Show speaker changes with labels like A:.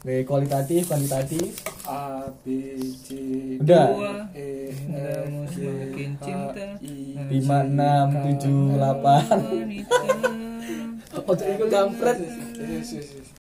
A: Kualitatif, kuantitatif.
B: A B C
A: Udah.
B: E
C: Kamu
B: F G
C: semakin cinta
B: H I
A: 5, 6, 7, 8.
C: wanita.
A: Ojo iku kampret.
B: Yes.